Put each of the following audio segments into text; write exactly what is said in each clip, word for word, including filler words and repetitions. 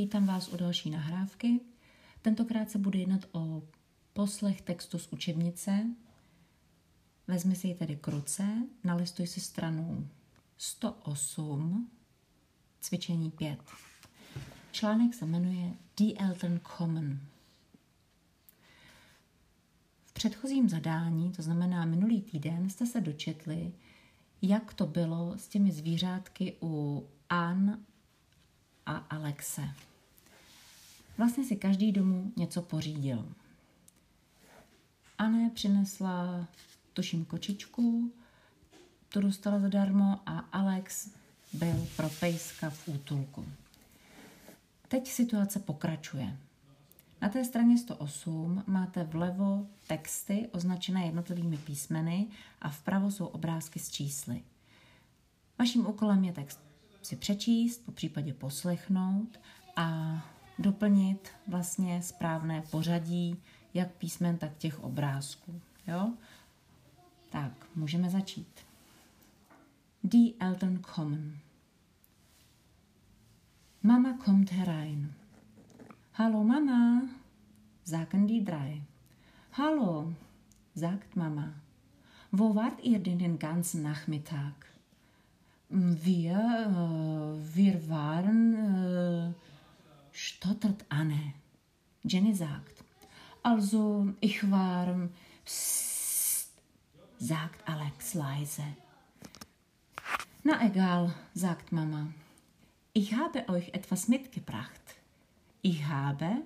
vítám vás u další nahrávky. Tentokrát se bude jednat o poslech textu z učebnice. Vezmi si ji tedy k ruce, nalistuj si stranu sto osm, cvičení pět. Článek se jmenuje The Elton Common. V předchozím zadání, to znamená minulý týden, jste se dočetli, jak to bylo s těmi zvířátky u Ann a Alexe. Vlastně si každý domů něco pořídil. Anne přinesla, tuším, kočičku, tu dostala zadarmo a Alex byl pro pejska v útulku. Teď situace pokračuje. Na té straně sto osm máte vlevo texty označené jednotlivými písmeny a vpravo jsou obrázky s čísly. Vaším úkolem je text si přečíst, popřípadě poslechnout a doplnit vlastně správné pořadí jak písmen, tak těch obrázků. Jo? Tak, můžeme začít. Die Eltern kommen. Mama kommt herein. Hallo Mama, sagen die drei. Hallo, sagt Mama. Wo wart ihr denn den ganzen Nachmittag? Wir, äh, wir waren, äh, stottert Anne. Jenny sagt, also ich war, psst, sagt Alex leise. Na egal, sagt Mama. Ich habe euch etwas mitgebracht. Ich habe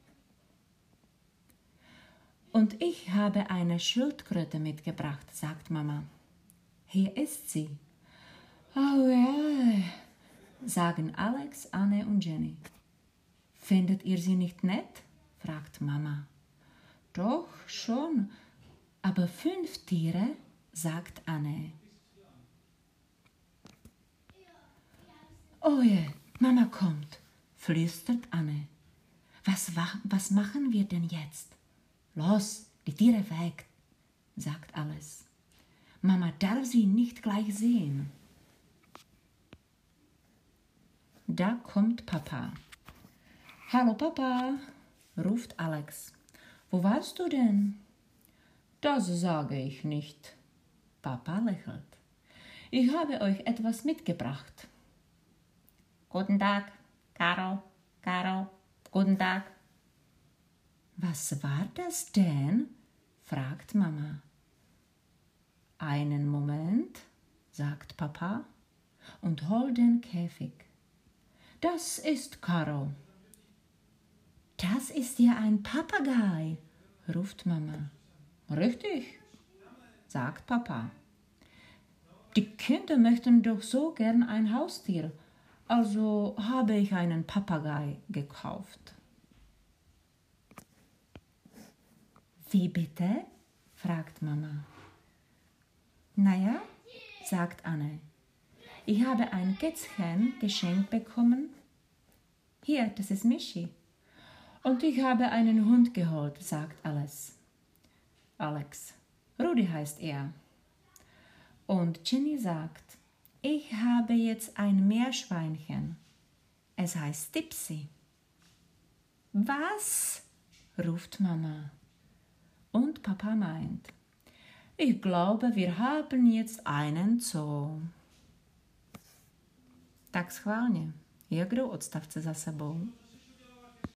und ich habe eine Schildkröte mitgebracht, sagt Mama. Hier ist sie. Oh ja, sagen Alex, Anne und Jenny. Findet ihr sie nicht nett? Fragt Mama. Doch, schon, aber fünf Tiere, sagt Anne. Oh je, Mama kommt, flüstert Anne. Was, was machen wir denn jetzt? Los, die Tiere weg, sagt Alice. Mama darf sie nicht gleich sehen. Da kommt Papa. Hallo Papa, ruft Alex. Wo warst du denn? Das sage ich nicht. Papa lächelt. Ich habe euch etwas mitgebracht. Guten Tag, Caro, Caro, guten Tag. Was war das denn? Fragt Mama. Einen Moment, sagt Papa und holt den Käfig. Das ist Caro. Das ist ja ein Papagei, ruft Mama. Richtig, sagt Papa. Die Kinder möchten doch so gern ein Haustier, also habe ich einen Papagei gekauft. Wie bitte? Fragt Mama. Naja, sagt Anne. Ich habe ein Kätzchen geschenkt bekommen. Hier, das ist Michi. Und ich habe einen Hund geholt, sagt Alice. Alex. Rudi heißt er. Und Jenny sagt, ich habe jetzt ein Meerschweinchen. Es heißt Tipsy. Was? Ruft Mama. Und Papa meint, ich glaube, wir haben jetzt einen Zoo. Tak schválně. Jak jdou odstavce za sebou?